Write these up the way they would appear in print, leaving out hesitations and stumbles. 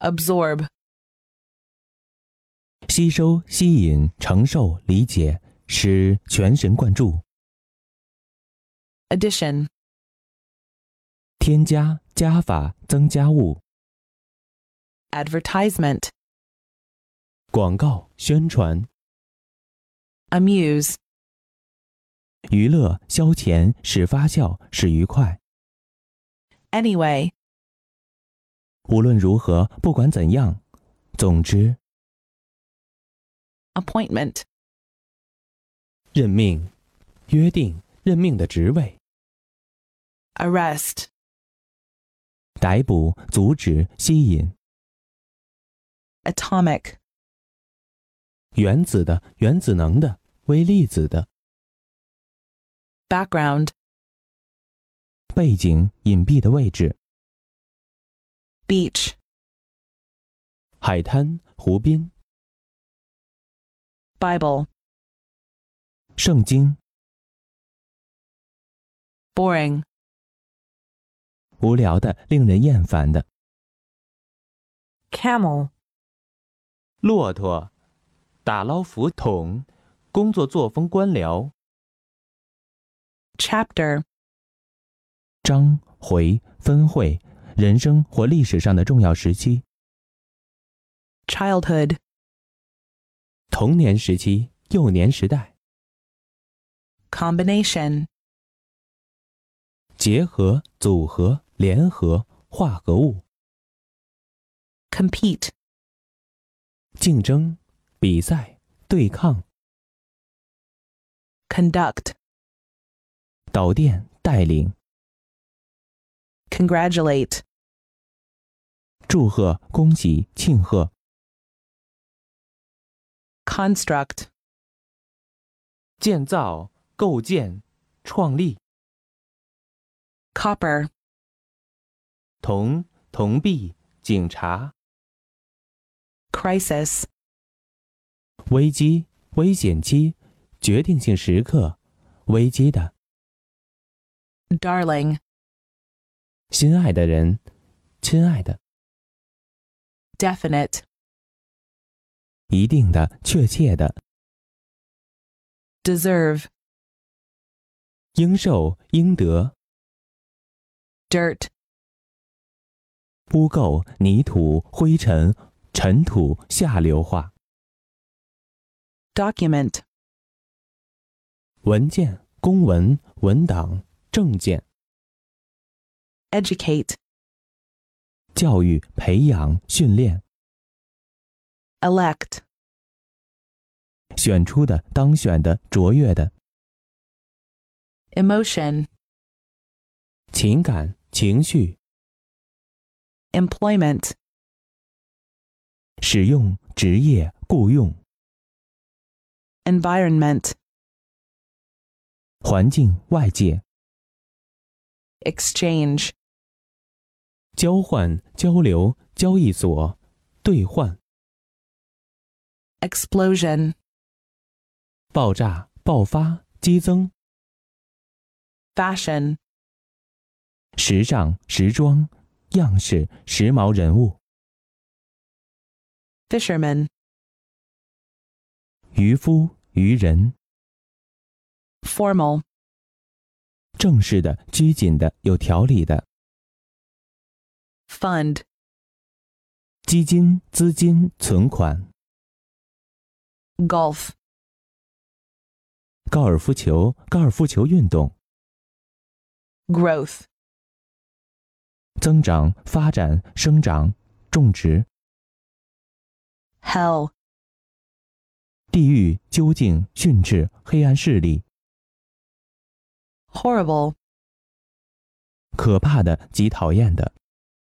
absorb, 吸收、吸引、承受、理解，使全神贯注。 addition, 添加、加法、增加物。 advertisement, 广告、宣传。 amuse, 娱乐、消遣，使发笑，使愉快。 anyway, 无论如何，不管怎样，总之。 appointment, 任命、约定、任命的职位。 arrest, 逮捕、阻止、吸引。 atomic, 原子的、原子能的、微粒子的。 background, 背景、隐蔽的位置。 beach, 海滩、湖滨。 Bible, 圣经。 boring, 无聊的、令人厌烦的。 camel, 骆驼。打捞浮桶。工作作风官僚。 chapter, 章、回、分会，人生或历史上的重要时期。 childhood, 童年时期、幼年时代。 combination, 结合、组合、联合、化合物。 compete, 竞争、比赛、对抗。 conduct, 导电、带领。 congratulate, 祝贺、恭喜、庆贺。 construct, 建造、构建、创立。 copper, 铜、铜币、警察。 crisis, 危机、危险期、决定性时刻、危机的。 darling, 心爱的人、亲爱的。 definite, 一定的、确切的。 deserve, 应受、应得。 dirt, 污垢、泥土、灰尘、尘土、下流化。 document, 文件、公文、文档、证件。 educate, 教育、培养、训练。 elect, 选出的、当选的、卓越的。 emotion, 情感、情绪。 employment, 使用、职业、雇用。 environment, 环境、外界。 exchange, 交换、交流、交易所、兑换。 explosion, 爆炸、爆发、激增。 fashion, 时尚、时装、样式、时髦人物。 fisherman, 渔夫、渔人。 formal, 正式的、拘谨的、有条理的。 fund, 基金、资金、存款。 golf, 高尔夫球、高尔夫球运动。 growth, 增长、发展、生长、种植。 hell, 地狱、究竟、训斥、黑暗势力。 horrible, 可怕的、极讨厌的。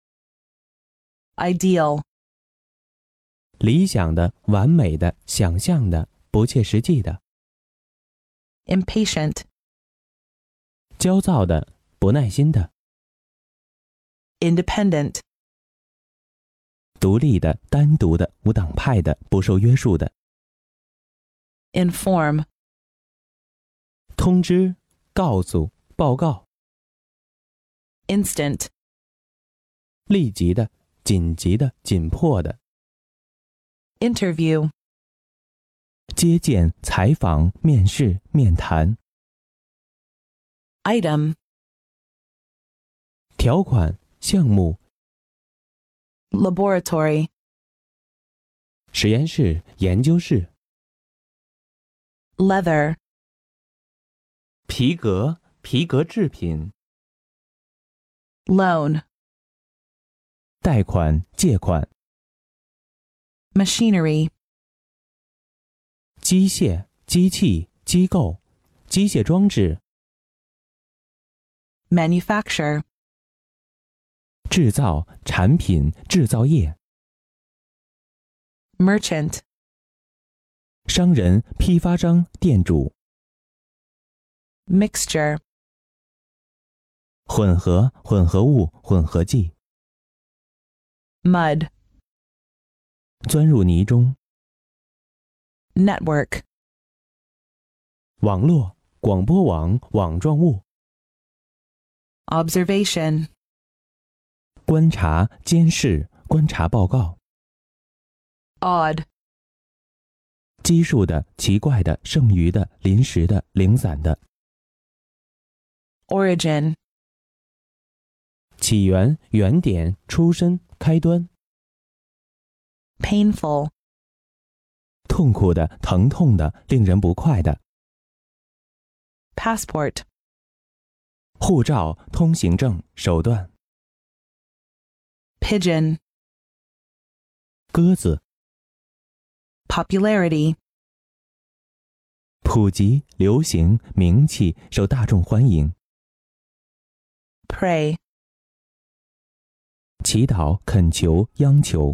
ideal, 理想的、完美的、想象的、不切实际的。 impatient, 焦躁的、不耐心的。 independent, 独立的、单独的、无党派的、不受约束的。 inform, 通知、告诉、报告。 instant, 立即的、 紧急的、紧迫的。 interview, 接见、采访、面试、面谈。 item, 条款、项目、 laboratory, 实验室、研究室。 leather, 皮革、皮革制品。 loan, 贷款、借款。 machinery, 机械、机器、机构、机械装置。 manufacture, 制造、产品、制造业。 merchant, 商人、批发商、店主。 mixture, 混合、混合物、混合剂。 mud, 钻入泥中。 network, 网络、广播网、网状物。 observation, 观察、监视、观察报告。 odd, 奇数的、奇怪的、剩余的、临时的、零散的。 origin, 起源、原点、出身、开端。 painful, 痛苦的、疼痛的、令人不快的。 passport, 护照、通行证、手段。 pigeon, 鸽子。 popularity, 普及、流行、名气、受大众欢迎。 pray, 祈祷、恳求、央求。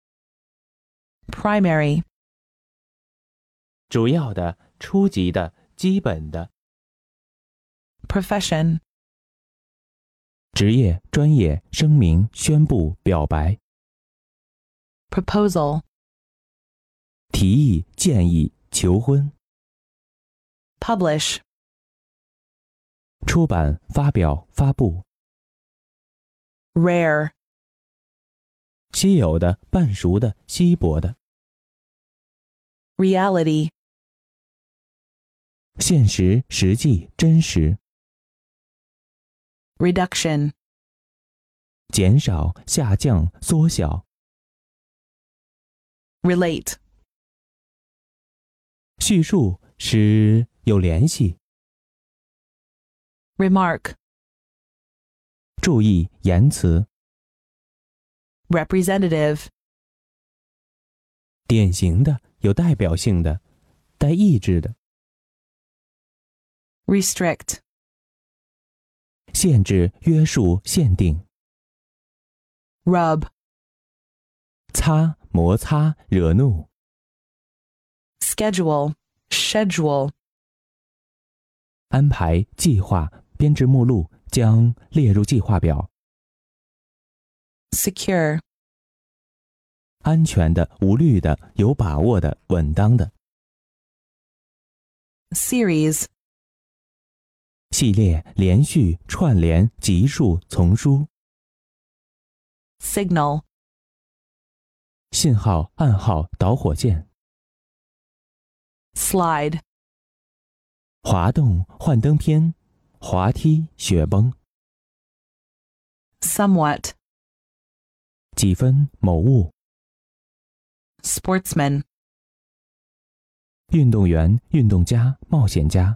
primary, 主要的、初级的、基本的。 profession, 职业、专业、声明、宣布、表白。 proposal, 提议、建议、求婚。 publish, 出版、发表、发布。 rare, 稀有的、半熟的、稀薄的。 reality, 现实、实际、真实。 reduction, 减少、下降、缩小。 relate, 叙述使有联系。 remark, 注意言辞。 representative, 典型的、有代表性的、带意志的。 restrict, 限制、约束、限定。 rub, 擦、摩擦、惹怒。 schedule, schedule, 安排、计划、编制目录，将列入计划表。 secure, 安全的、无虑的、有把握的、稳当的。 series, 系列、连续、串联、级数、丛书。 signal, 信号、暗号、导火线。 slide, 滑动、幻灯片、滑梯、雪崩。 somewhat, 几分、某物。 sportsman, 运动员、运动家、冒险家。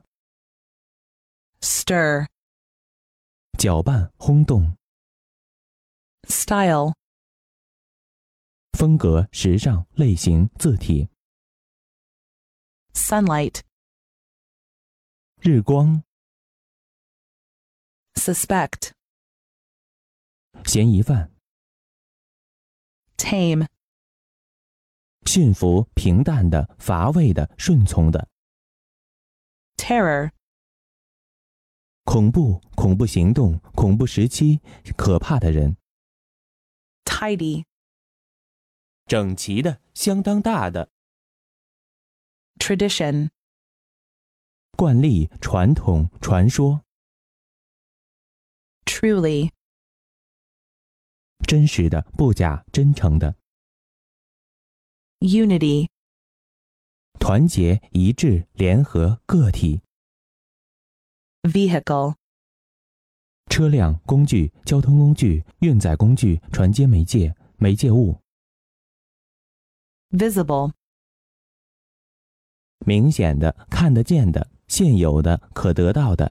stir, 搅拌、轰动。 style, 风格、时尚、类型、字体。 sunlight, 日光。 suspect, 嫌疑犯。 tame, 驯服、平淡的、乏味的、顺从的。 terror, 恐怖、恐怖行动、恐怖时期、可怕的人。 tidy, 整齐的、相当大的。 tradition, 惯例、传统、传说。 truly, 真实的、不假、真诚的。 Unity. 团结、一致、联合、个体。 Vehicle. 车辆、工具、交通工具、运载工具、传接媒介、媒介物。 Visible. 明显的、看得见的、现有的、可得到的。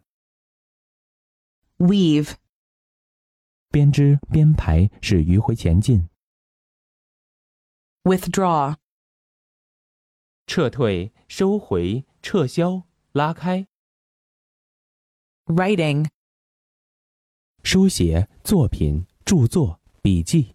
Weave. 编织、编排，使迂回前进。 Withdraw. 撤退、收回、撤销、拉开。 Writing. 书写、作品、著作、笔记。